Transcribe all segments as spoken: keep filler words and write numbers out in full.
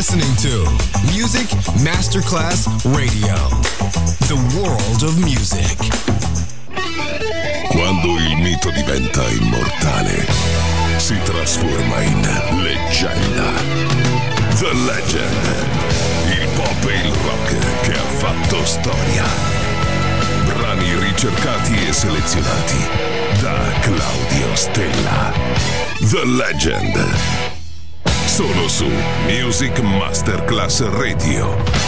listening to Music Masterclass Radio, the world of music. Quando il mito diventa immortale, si trasforma in leggenda. The Legend, il pop e il rock che ha fatto storia. Brani ricercati e selezionati da Claudio Stella. The Legend. Solo su Music Masterclass Radio.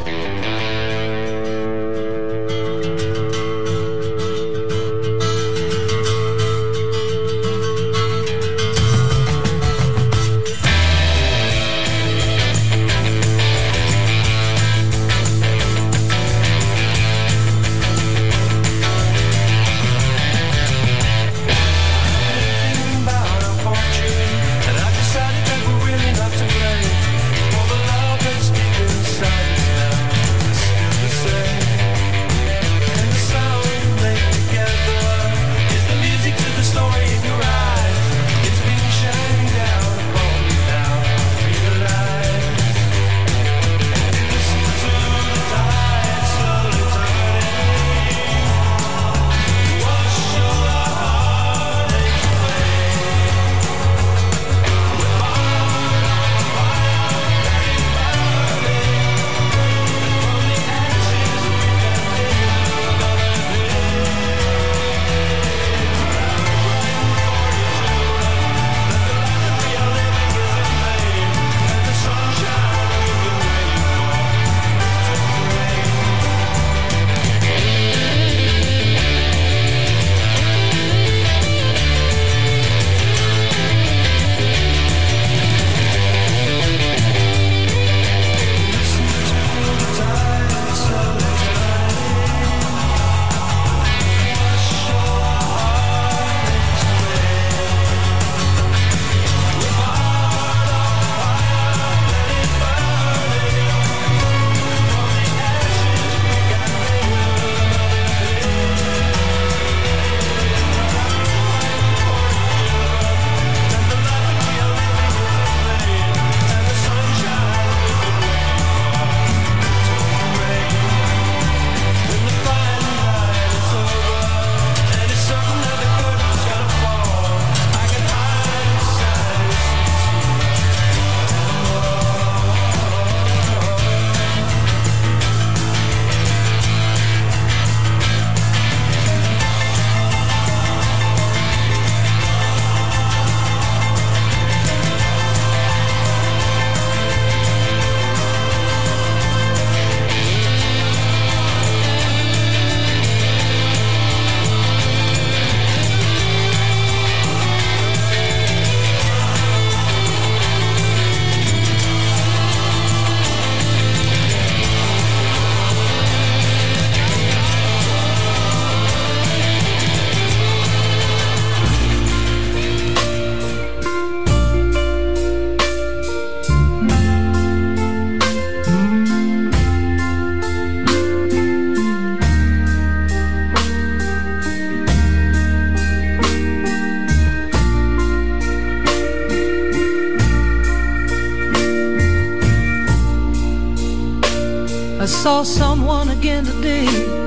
Saw someone again today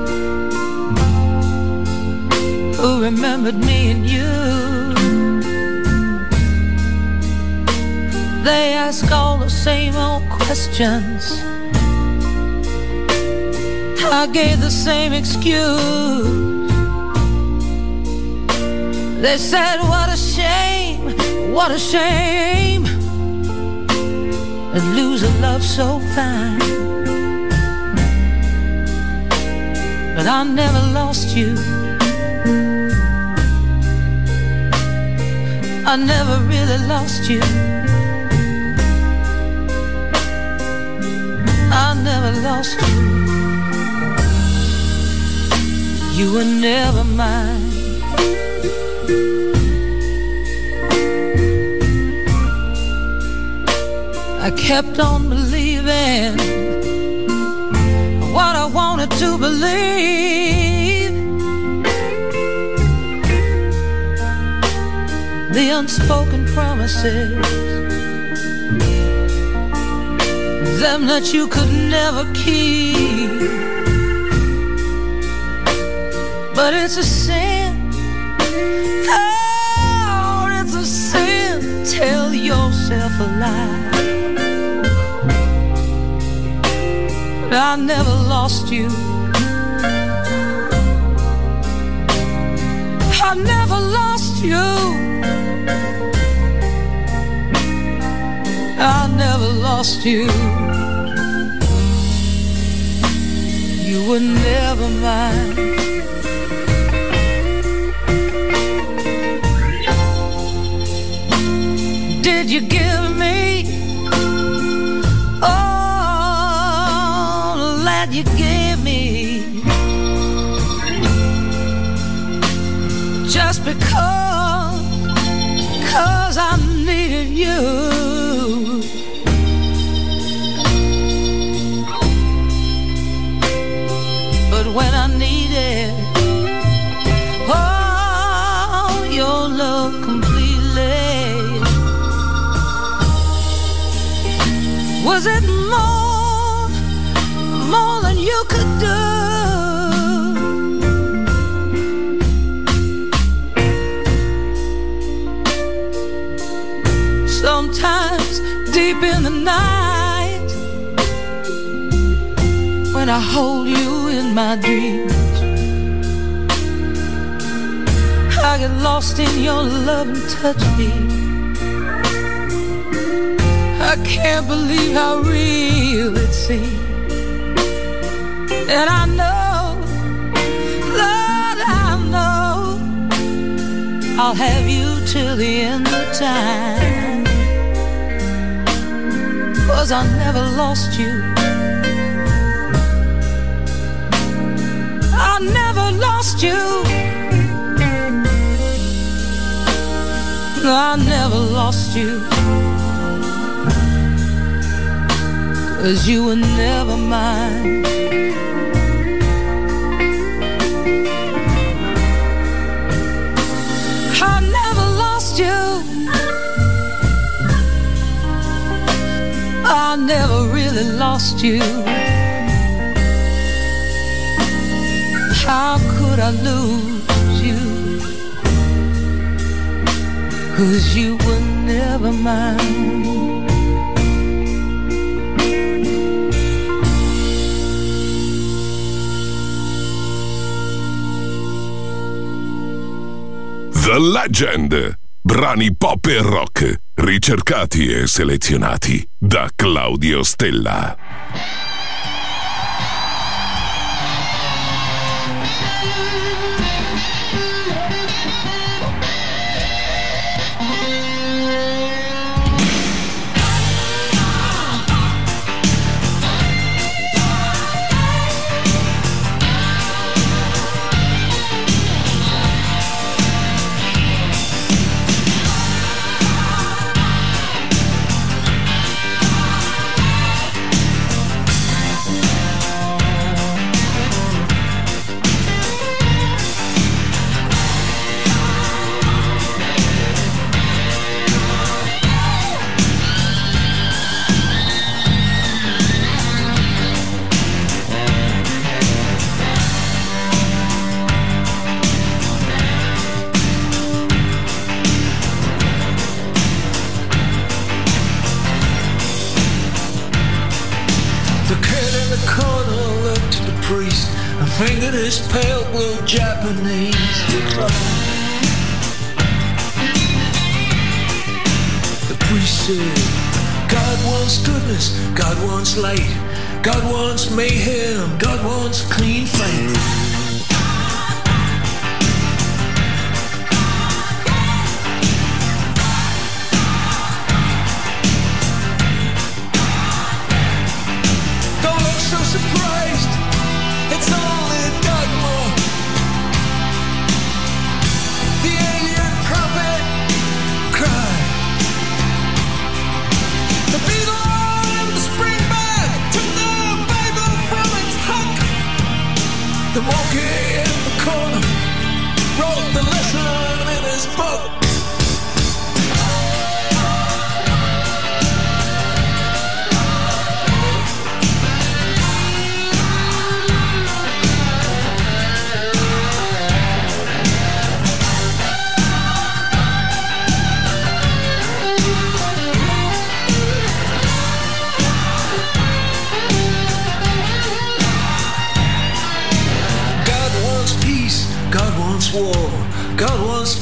who remembered me and you. They ask all the same old questions. I gave the same excuse. They said, what a shame, what a shame to lose a love so fine. But I never lost you. I never really lost you. I never lost you. You were never mine. I kept on believing what I wanted to believe. The unspoken promises them that you could never keep. But it's a sin, oh, it's a sin. Tell yourself a lie. I never lost you. I never lost you. I never lost you. You were never mine. Did you give me all that you gave me? Just because, 'cause I needed you. But when I needed all your love completely, was it more, more than you could do? Sometimes deep in the night, when I hold you in my dreams, I get lost in your love and touch me. I can't believe how real it seems. And I know, Lord, I know I'll have you till the end of time. 'Cause I never lost you. I never lost you. I never lost you. 'Cause you were never mine. I never lost you. I never really lost you. How could I lose you? 'Cause you were never mine. The Legend. Brani pop e rock, ricercati e selezionati da Claudio Stella. Fingered his pale blue Japanese decline. The priest said, God wants goodness, God wants light, God wants mayhem, God wants clean fight. Don't look so surprised, it's only dogma. The alien prophet cried. The beetle and the springback took the Bible from its hook. The more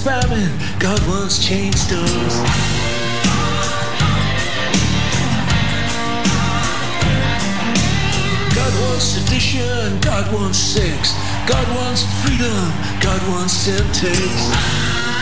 famine, God wants chain stores. God wants sedition, God wants sex. God wants freedom, God wants Semtex.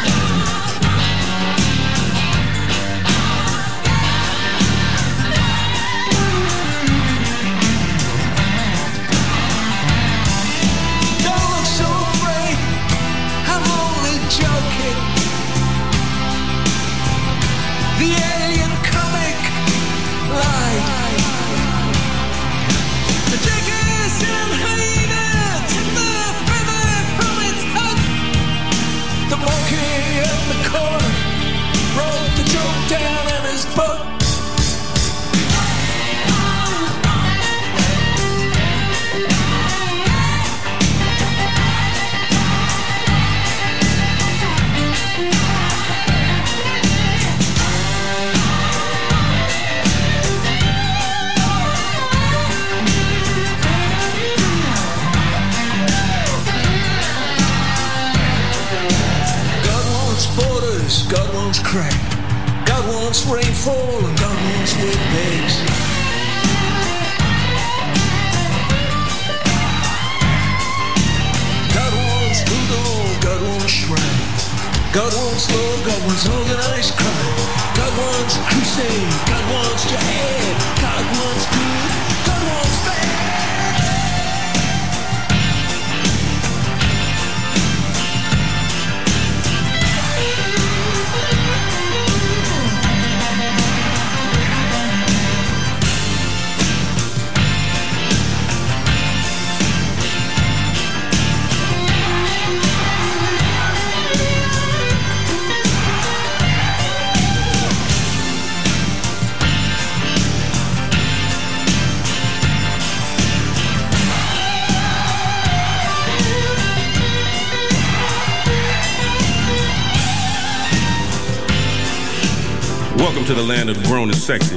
God wants crack. God wants rainfall and God wants windbags. God wants voodoo, God wants shrines. God wants love, God wants organized crime. God wants crusade, God wants jihad. God wants good, God wants bad. Welcome to the land of grown and sexy.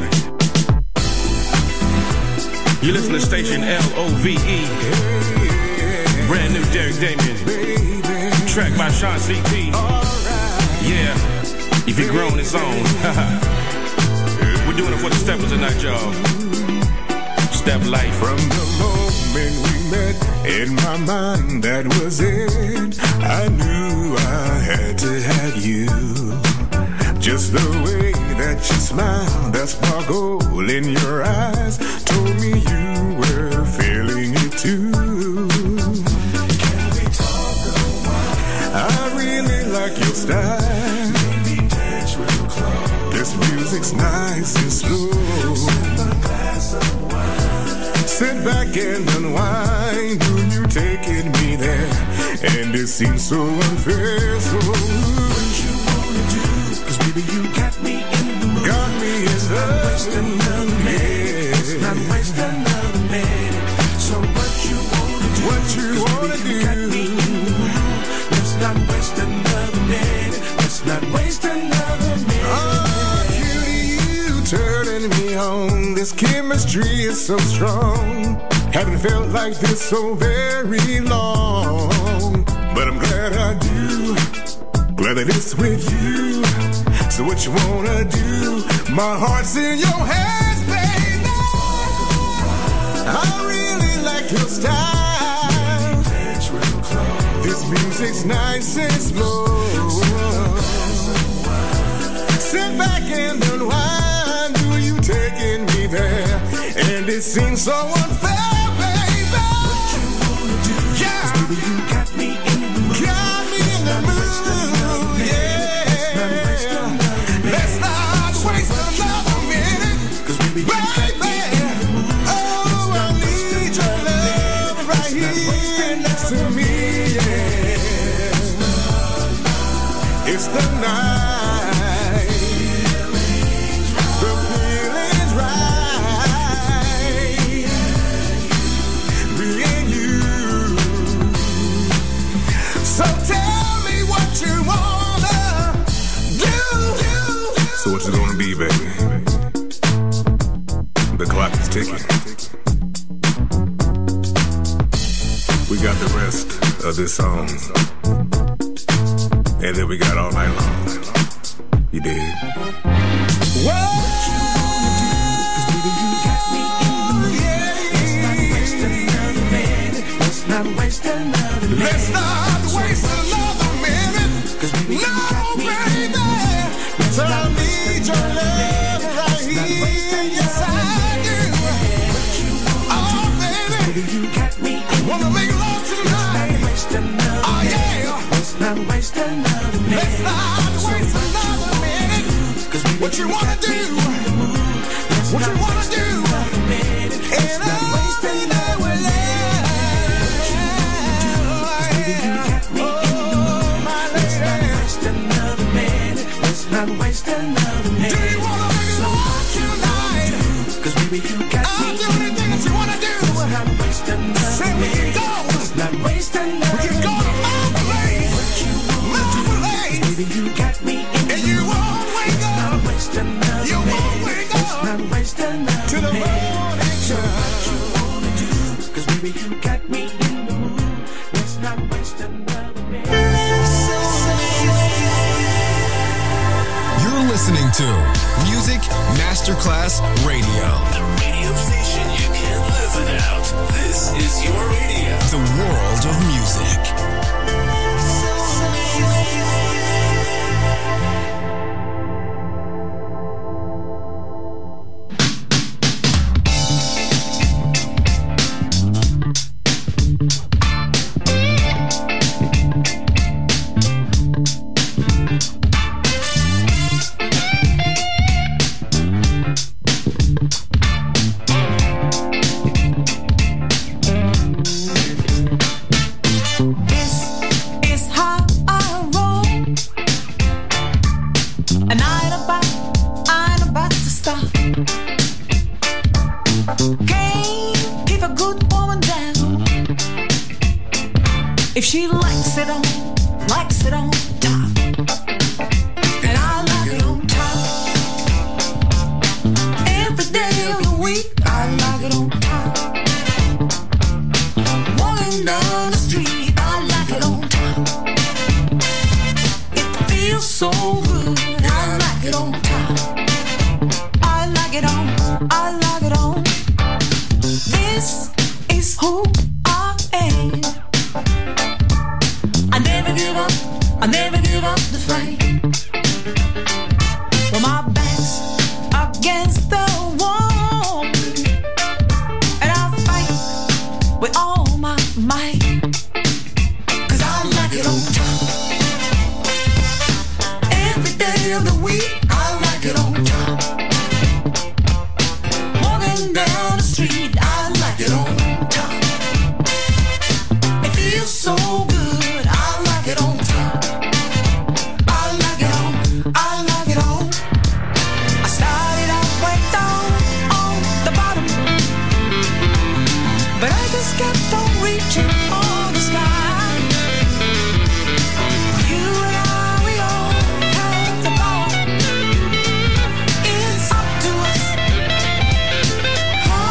You listen to station L O V E. Brand new Derek Damien. Track by Sean C T. Yeah, if you're grown, it's on. We're doing it for the steppers tonight, y'all. Step life. From the moment we met, in my mind, that was it. I knew I had to have you. Just the way that you smile, that sparkle in your eyes told me you were feeling it too. Can we talk a while? I really like your style. Maybe dance real close. This music's nice and slow. Sip a glass of wine. Sit back and unwind. Do you taking me there? And it seems so unfair, so what you wanna do? Cause baby you got me in the mood. Got me in the mood. Let's not waste another minute. Let's not waste another minute. So what you wanna do? What you wanna do? You got me in the mood. Let's not waste another minute. Let's not waste another minute. Oh, cutie, you turning me on. This chemistry is so strong. Haven't felt like this so very long. But I'm glad I do. Glad that it's with you. So what you wanna do? My heart's in your hands, baby. I really like your style. This music's nice and slow. Sit back and unwind. Do you taking me there? And it seems so unfair, baby. What you wanna do? Yeah, 'cause baby you got me in the mood. Got me in the mood. Let's not waste another minute. Cause baby, you got me in the mood. Oh, I need your love right here next to me, yeah. It's the night. The feeling's right. Me and you. So tell me what you wanna do. So what you gonna be, baby? The clock is ticking. We got the rest of this song. and then we got all night long. You did. Well, let's not waste another minute. Let's not waste another minute. Cause baby, no, baby. So I need your love right here. Yes, I do. Oh, baby. You got me. Wanna make love tonight. Oh, yeah. Let's not waste another minute. Let's not waste another minute. Cause what you wanna do? What you wanna do? And I waste another minute. Not waste another minute. Do you wanna make it love tonight? Cause baby you got I'll me. I'll do anything that you wanna do. Let's not waste another Say minute. We can go. Let's not waste another We can go to my place. My place. Baby you got me in and you won't wake up. Let's not waste another You minute. Won't wake up. Let's not waste another to the morning sun. So what you wanna do? Cause baby you got me in the mood. Let's not waste another minute. You're listening to Music Masterclass Radio. The radio station you can't live without. This is your radio. The world of music. If she likes it on, likes it on top, and I like it on top. Every day of the week, I like it on top. Walking down the street, I like it on top. It feels so good, I like it on top. I like it on, I like it on. This is who I am. I never give up, I never give up the fight. Well, my back's against the wall, and I fight with all my might. Cause I like it on top. Every day of the week, I like it on top. Walking down the street, I like it on top. It feels so good. Oh,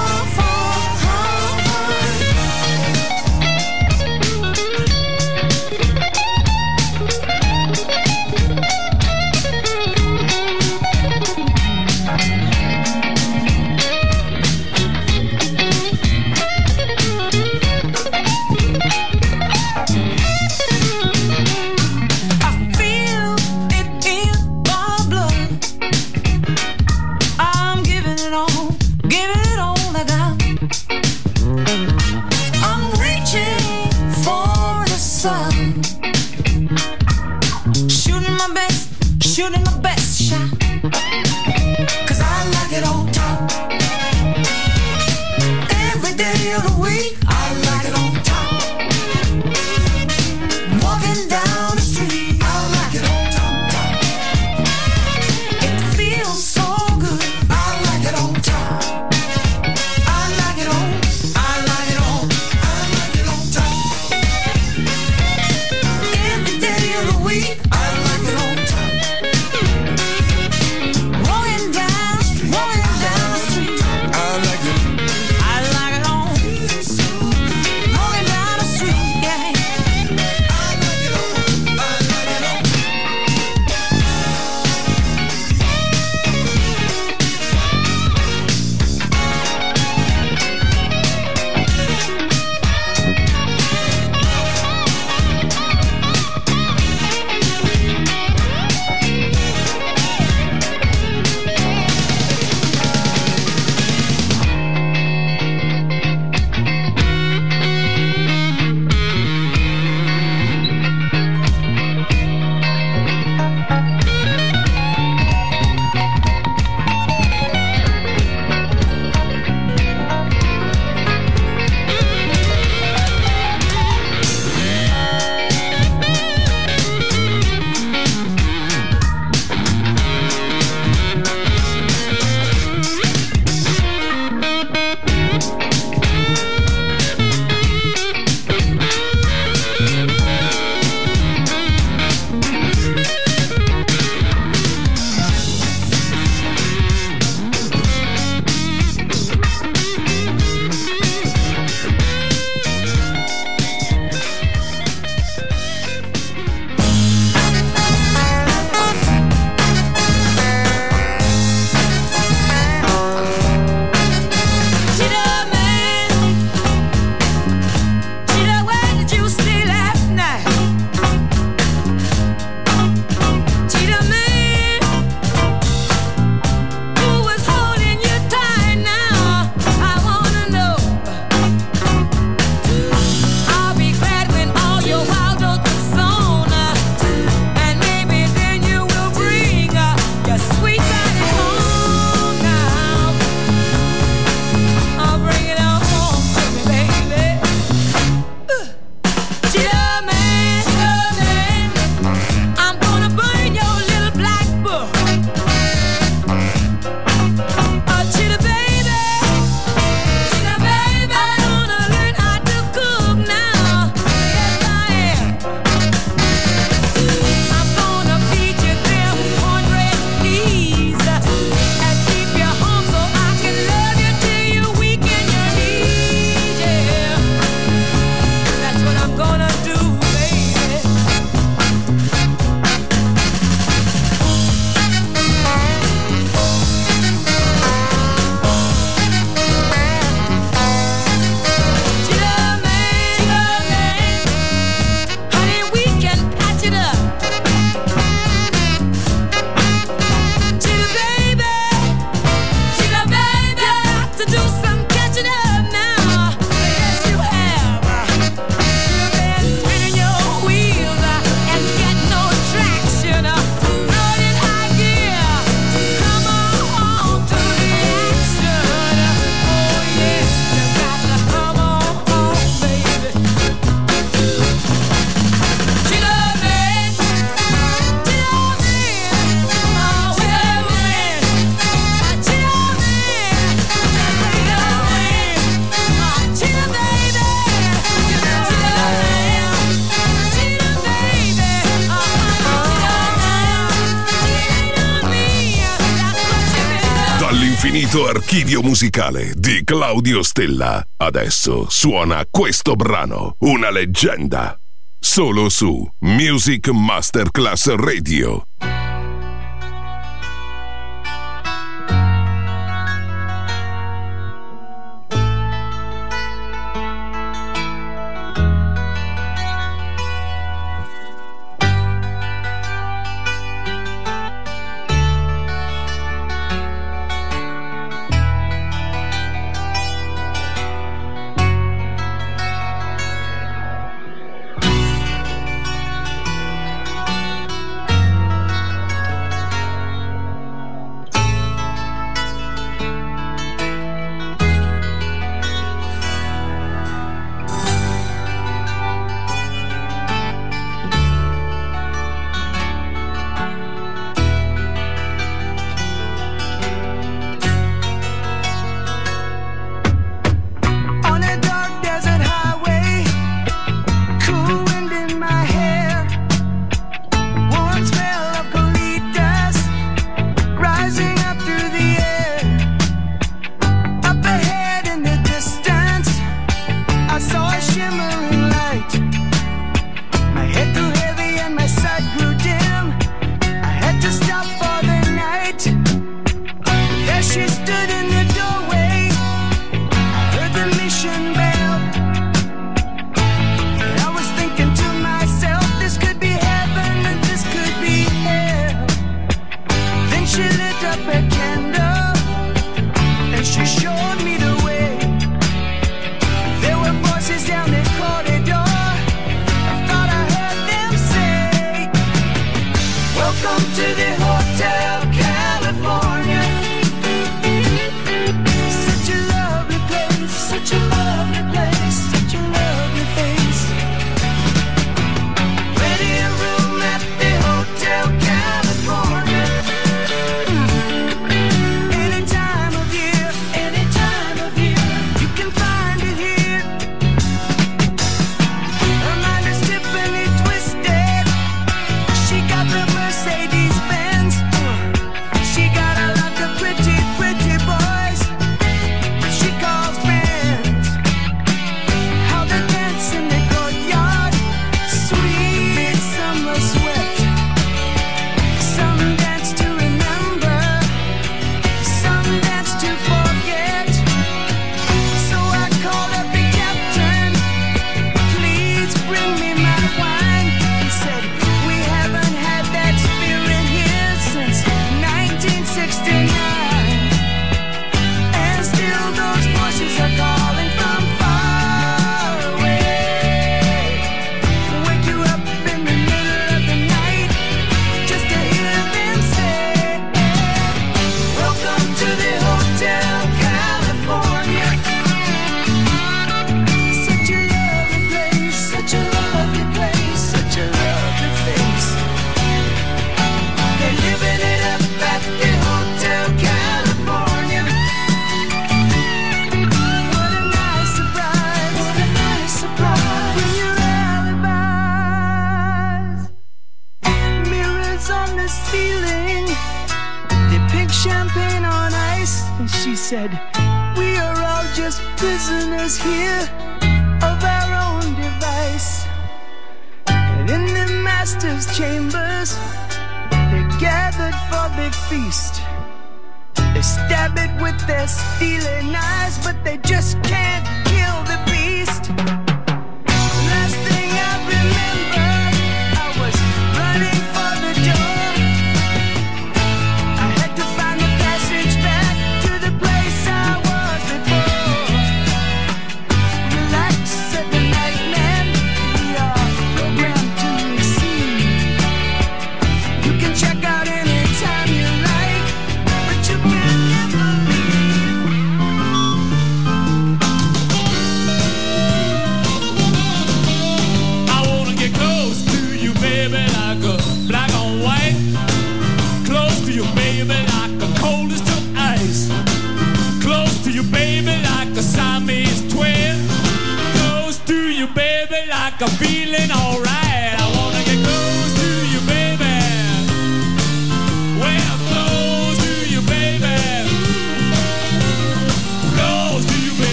completo archivio musicale di Claudio Stella. Adesso suona questo brano, una leggenda, solo su Music Masterclass Radio.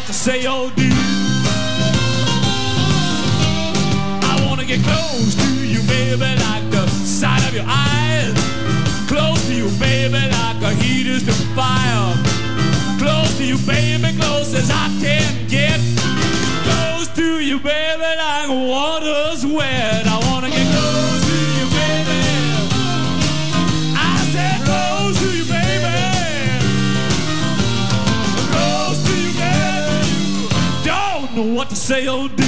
what to say or do. I wanna get close to you, baby, like the sight of your eyes. Close to you, baby, like a heat is to fire. Close to you, baby, close as I can get. Close to you, baby, like water's wet. I wanna get close to you, baby. I said close to you, baby. Close to you, baby. Don't know what to say or do.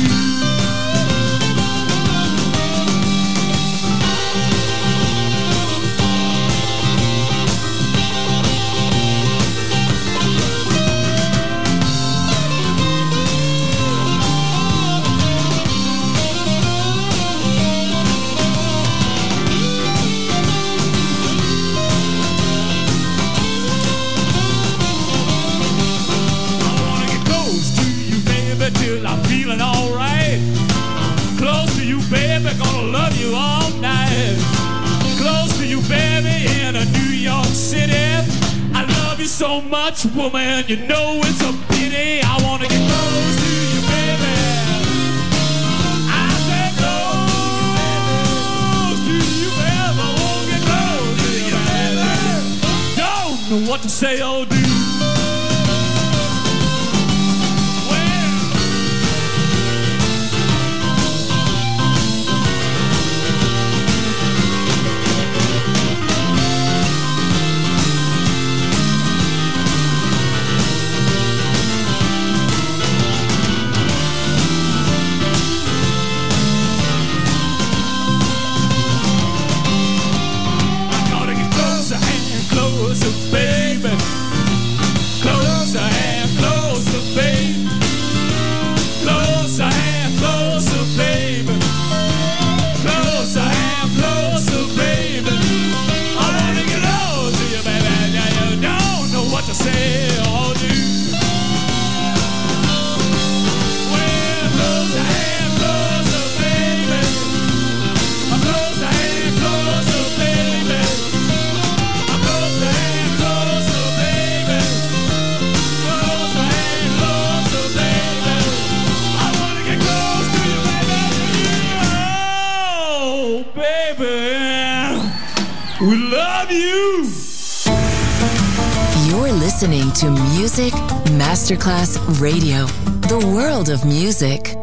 Till I'm feeling alright. Close to you, baby, gonna love you all night. Close to you, baby, in a New York City. I love you so much, woman, you know it's a pity. I wanna get close to you, baby. I said close to you, baby. I wanna get close to you, baby. Don't know what to say or do. Listening to Music Masterclass Radio, the world of music.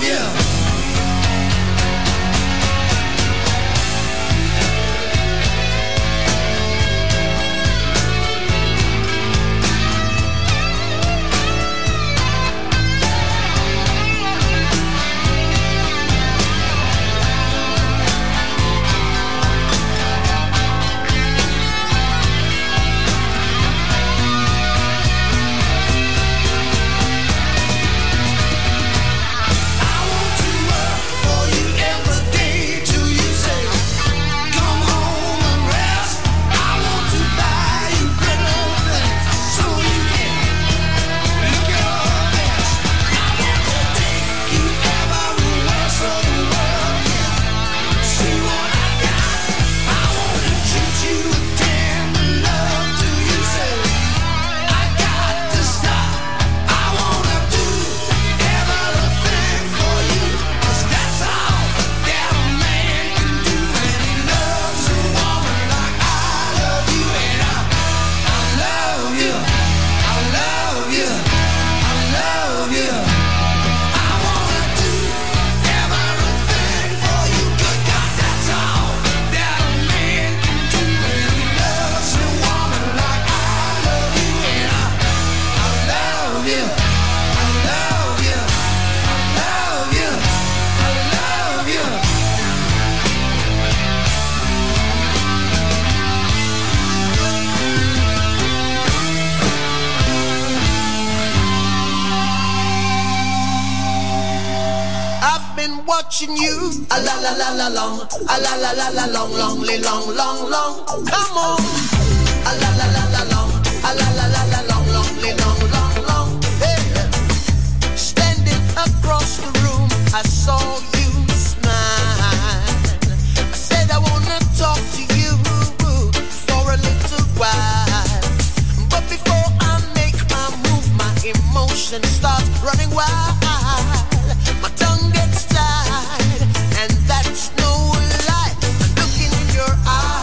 watching you. A la la la la long, a la la la la long, long, long, long, long. Come on. A la la la la long, a la la la la long, long, long, long, long. Hey. Standing across the room, I saw you smile. I said I wanna talk to you for a little while. But before I make my move, my emotions start running wild. My tongue gets tied, and that's no lie. I'm looking in your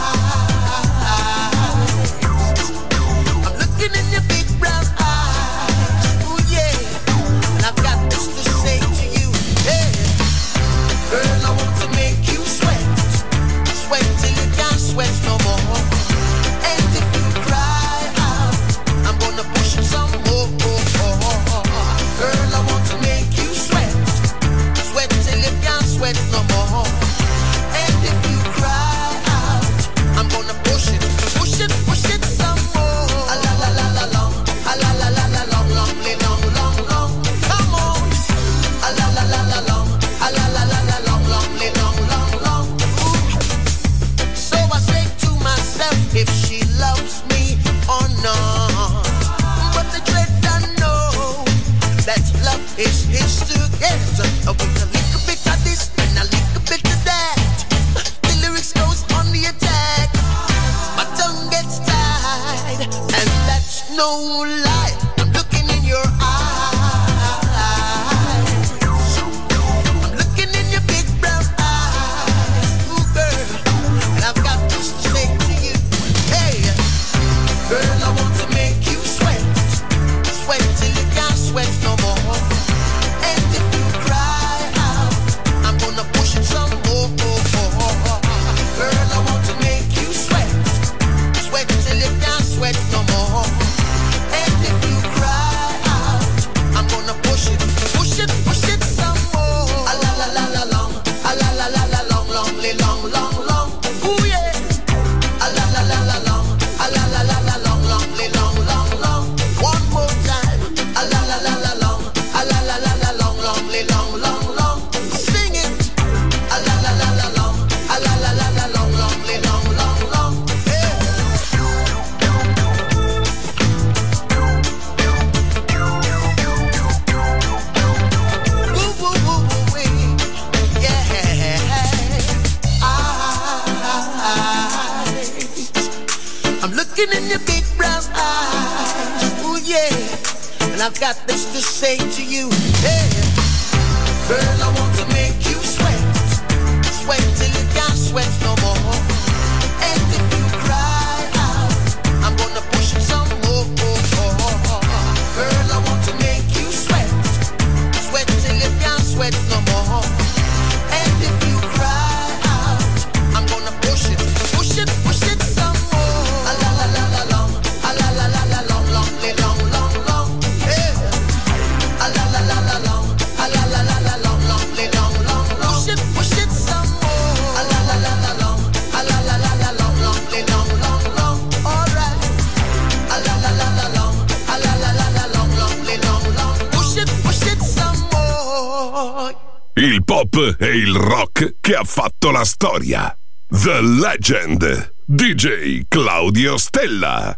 eyes. I'm looking in your big brown eyes. Oh yeah, and I've got this to say to you. Hey, girl, I want to make you sweat, sweat till you can't sweat no more. And if you cry out, I'm gonna push it some more. Girl, I want to make you sweat, sweat till you can't sweat no more. And if you cry out, I'm gonna push it, push it, push it some more. A la la la la long, a la la la la long, long, long, long, long. Come on. A la la la la long, a la la la la long, long, long, long, long. Ooh. So I say to myself, if she loves me or not. But the dread I know that love is his to get. With a little bit of this and a little bit of that, the lyrics goes on the attack. My tongue gets tied, and that's no lie. I'm looking in your eyes. I'm looking in your big brown eyes. Ooh, girl, and I've got this to say to you. Hey, girl, I want to make you sweat, sweat till you can't sweat no more. And if you cry out, I'm gonna push it some more. Girl, I want to make you sweat, sweat till you can't sweat no more. And if you cry out, I'm gonna push it, push it, push it some more. A la la la la long, a la la la la long, long, long, long, long. Ooh yeah. A la la la la long, a la la la la long, long, long, long, long. One more time. A la la la la long, a la la la la long, long, long, long, long. Sing it. A la la la la long, a la la la la long, long, long, long, long. Yeah. Woo, woo, woo, woo, wee. Yeah. Eyes. I'm looking in your big brown eyes. Ooh yeah. And I've got this to say to you. Hey, girl, I want to make you sweat, sweat till you can't sweat no more. And if you cry out, I'm gonna push it some more. Girl, I want to make you sweat, sweat till you can't sweat sweat no more. And if you cry out, I'm gonna push it, push it, push it some more. A la la la la long, a la la la la long, long, long, long, long, yeah. A la la la la long, a la la la la long, long, long, long, long. Push it, push it some more. A la la la la long, a la la la la long, long, long, long, long. All right. A la la la la long, a la la la la long, long, long, long. Push it, push it some more. Il pop e il rock che ha fatto la storia. The Legend, D J Claudio Stella.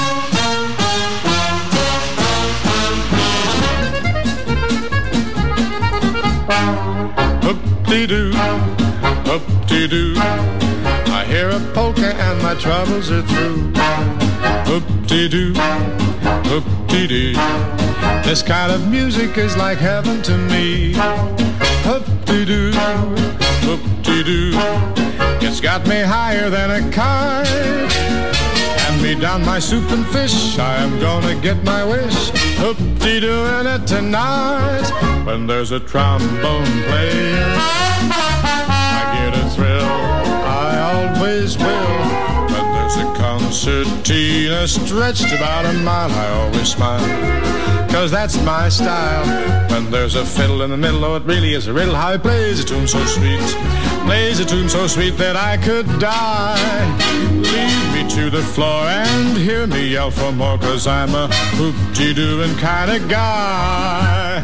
Hoop-dee-doo, hoop-dee-doo. I hear a polka and my troubles are through. Hoop-dee-doo, hoop-dee-doo. This kind of music is like heaven to me. Hoop-dee-doo, hoop-dee-doo. It's got me higher than a kite. Hand me down my soup and fish, I am gonna get my wish. Hoop-dee-doo in it tonight. When there's a trombone playing, I get a thrill, I always will. When there's a concertina stretched about a mile, I always smile, cause that's my style. When there's a fiddle in the middle, oh, it really is a riddle how he plays a tune so sweet, plays a tune so sweet that I could die. Lead me to the floor and hear me yell for more, cause I'm a hoop-dee-dooing kind of guy.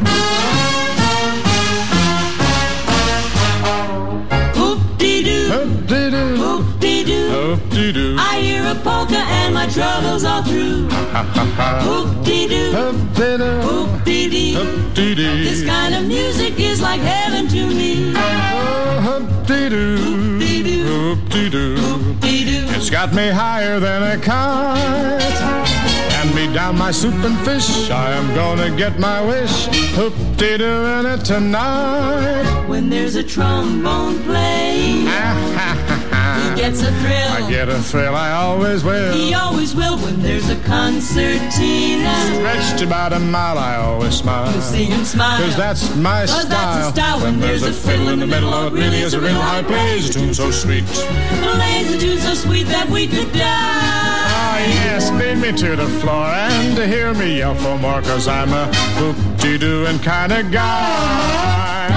Hoop-dee-doo, Hoop-dee-doo, hoop-dee-doo, hoop-dee-doo. I hear a polka and my troubles are through. Hoop-dee-doo, Hoop-dee-doo, hoop-dee-dee. hoop-dee-dee. This kind of music is like heaven to me. Oh, hoop-dee-doo, Hoop-dee-doo, hoop-dee-doo. hoop-dee-doo. It's got me higher than a kite. Hand me down my soup and fish, I am gonna get my wish. Hoop-dee-doo in it tonight. When there's a trombone playing, he gets a thrill. I get a thrill, I always will. He always will. When there's a concertina Stretched about a mile, I always smile. you see him smile. Cause that's my Cause style. that's a style. When there's a fiddle in the middle, oh, it really is a riddle how he plays a tune so sweet. Plays a tune so sweet that we could die. Ah, yes, lead me to the floor and hear me yell for more, cause I'm a hoop-dee-dooing kind of guy.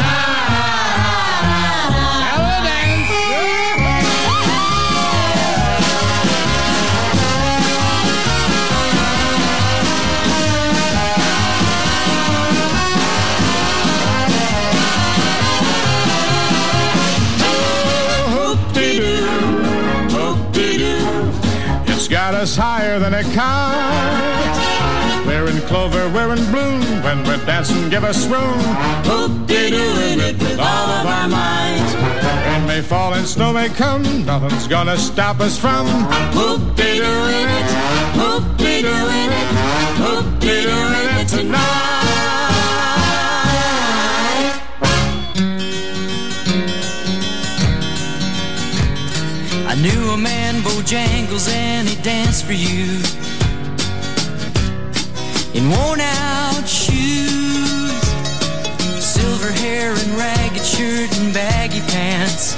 Got us higher than a kite. We're in clover, we're in bloom. When we're dancing, give us room. Hoop-dee-dooing it with all of our might. Rain may fall and snow may come, nothing's gonna stop us from Hoop-dee-dooing it, hoop-dee-dooing it, hoop-dee-dooing it tonight. I knew a man, Bojangles, and he danced for you in worn-out shoes, silver hair and ragged shirt and baggy pants,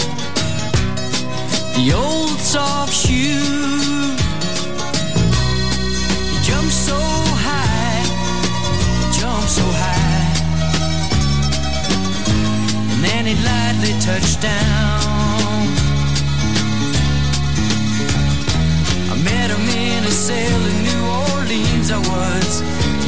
the old soft shoe. He jumped so high, jumped so high, and then he lightly touched down. Met him in a cell in New Orleans, I was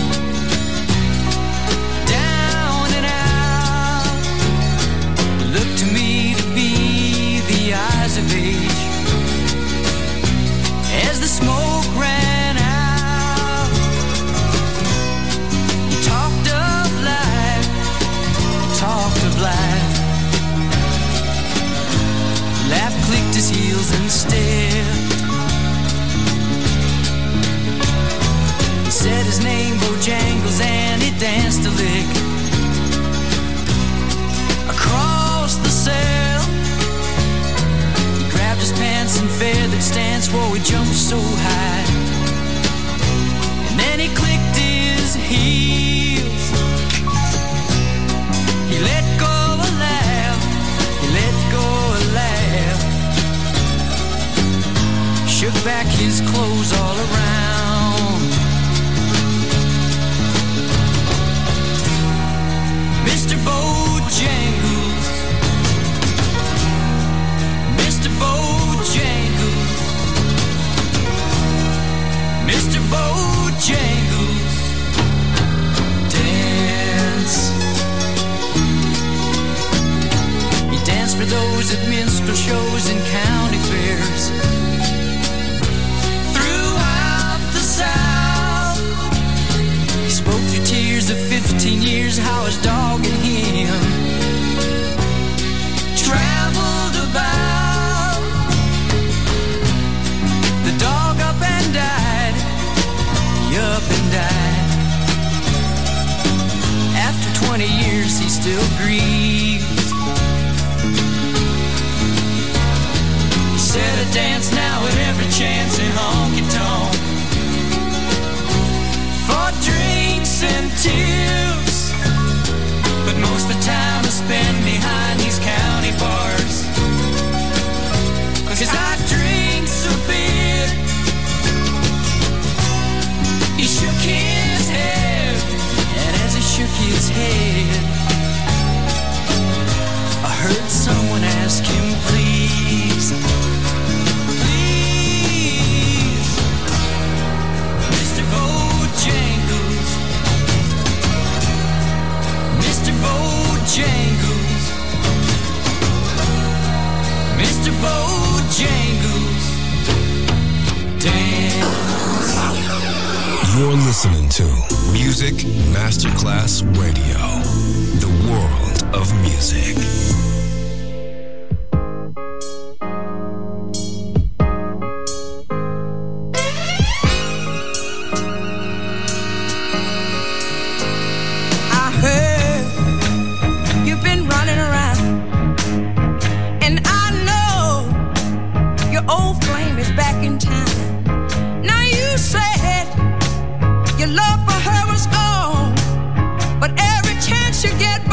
down and out. Looked to me to be the eyes of age as the smoke ran out. He talked of life, talked of life. Laugh clicked his heels and stared. Said his name, Bojangles, and he danced a lick across the cell. He grabbed his pants and feathered stance, whoa, he jumped so high. And then he clicked his heels back his clothes all around. Mister Bojangles, Mister Bojangles, Mister Bojangles, dance. He danced for those at minstrel shows and county fairs. Throughout the South, he spoke through tears of fifteen years how his dog and him traveled about. The dog up and died, he up and died. After twenty years he still grieves. He said I dance now at every chance in honky-tonk for drinks and tips, but most of the time I spend behind these county bars, 'cause I drink so big. He shook his head, and as he shook his head, I heard someone ask him, please, please, Mister Bojangles, Mister Bojangles, Mister Bojangles, dance. You're listening to Music Masterclass Radio, the world of music. I heard you've been running around, and I know your old flame is back in town. Now you said your love for her was gone, but every chance you get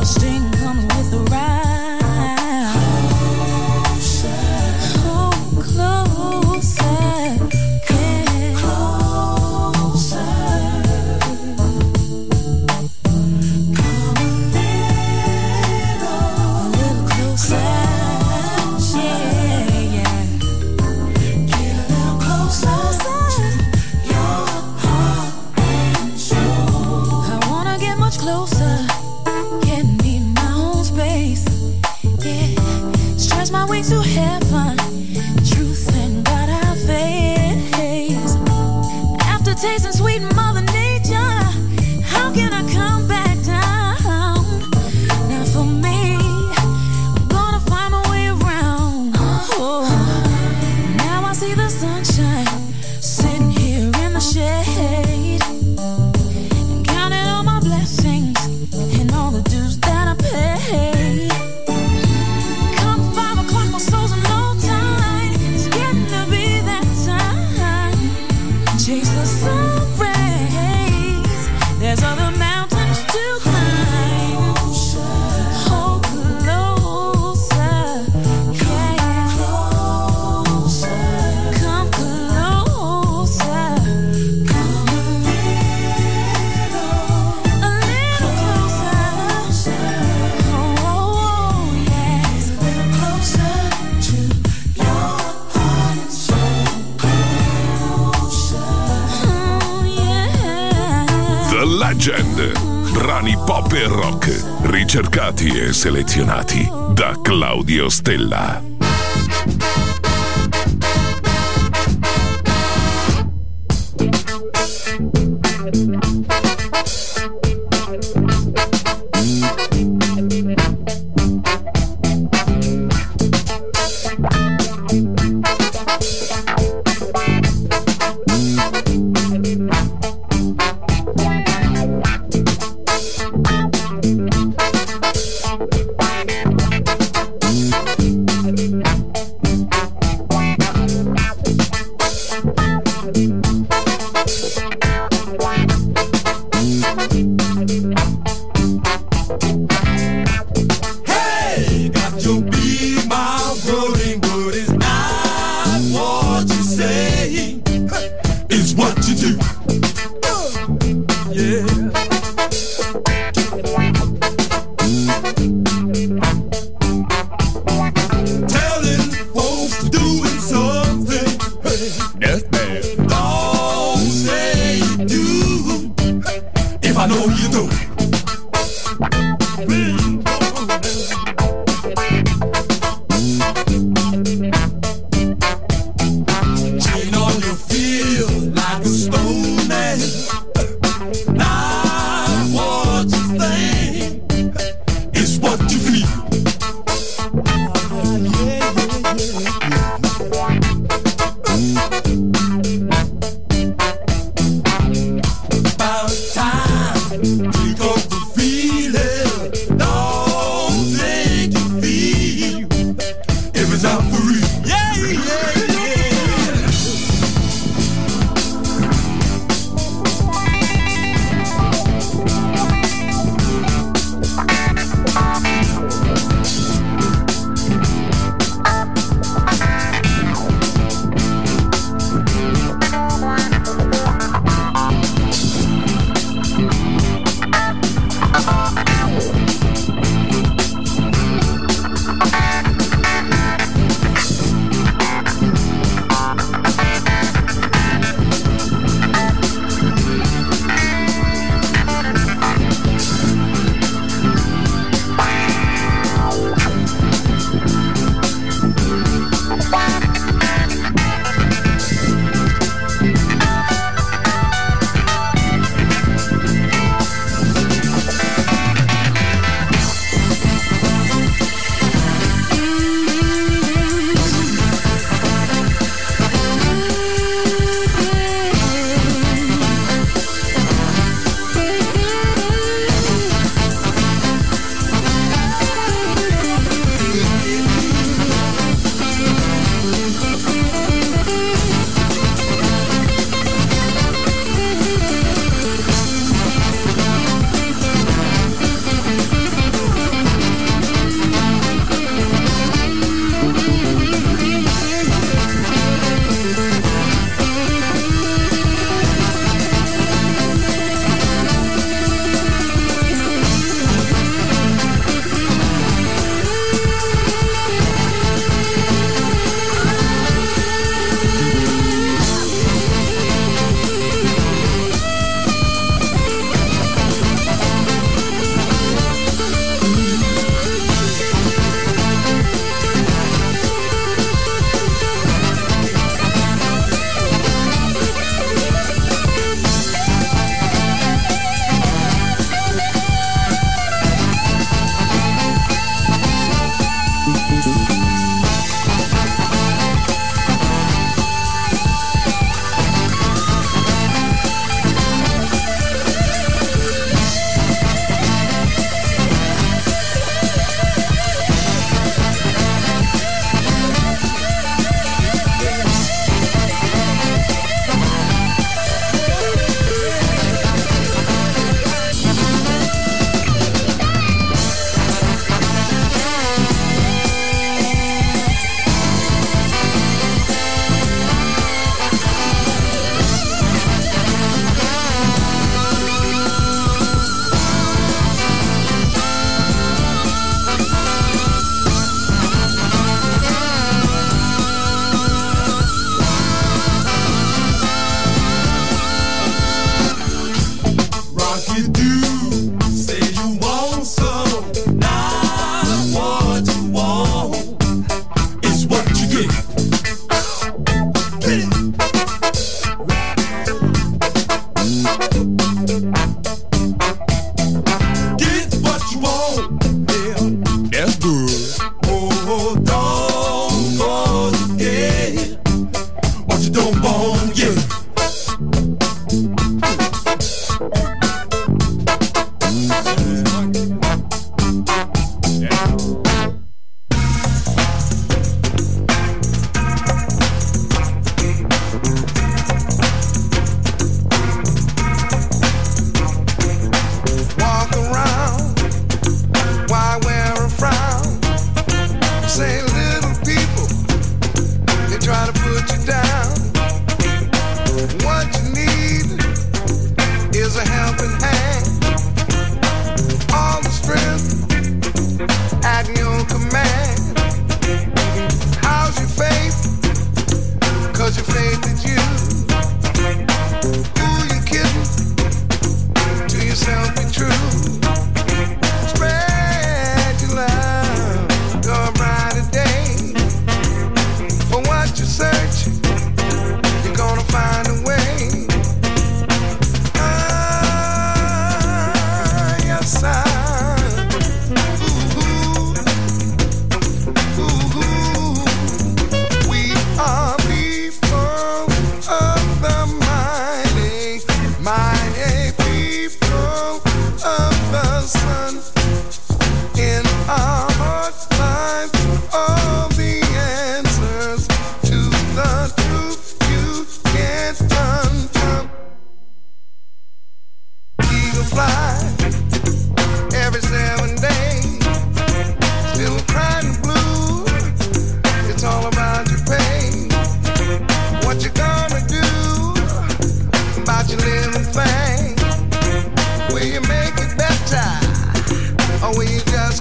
String comes with the ride. To heaven, truth and God I face. After tasting sweet Mother Nature, how can I come back down? Now for me, I'm gonna find my way around. Oh, now I see the sunshine sitting here in the shade, and counting all my blessings and all the dues that I paid. Chase the sun rays. There's other mountains to climb. Hold closer, yeah. Come closer, come a little, a little closer. Oh, yes, a little closer to your heart and soul. The Legend. Brani pop e rock, ricercati e selezionati da Claudio Stella. Thank you.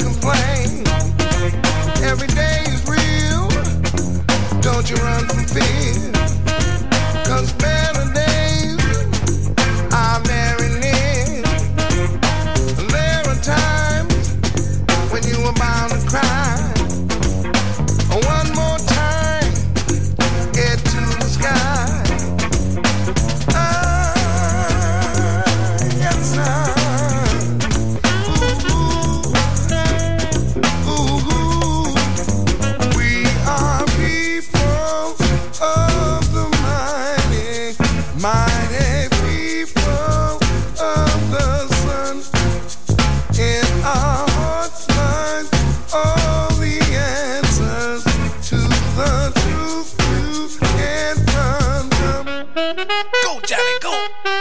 complain. Every day is real. Don't you run from fear. 'Cause better days are very near. There are times when you are bound to cry. One more time, head to the sky. Ah, yes, sir. Ooh, ooh, ooh. We are people of the mighty, mighty people of the sun. In our hearts lies all the answers to the truth you can't run from. Go, Johnny, go!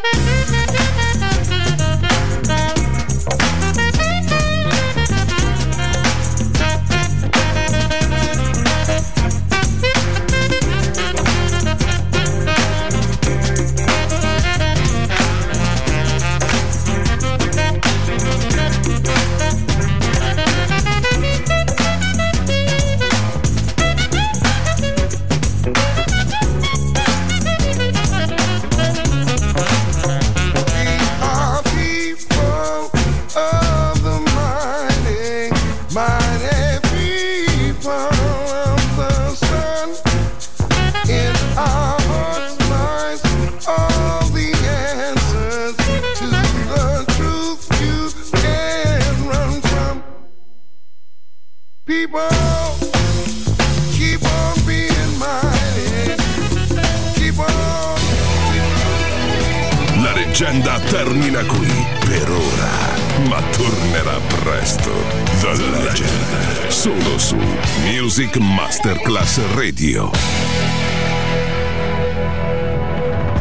La leggenda termina qui per ora, ma tornerà presto. The Legend, solo su Music Masterclass Radio.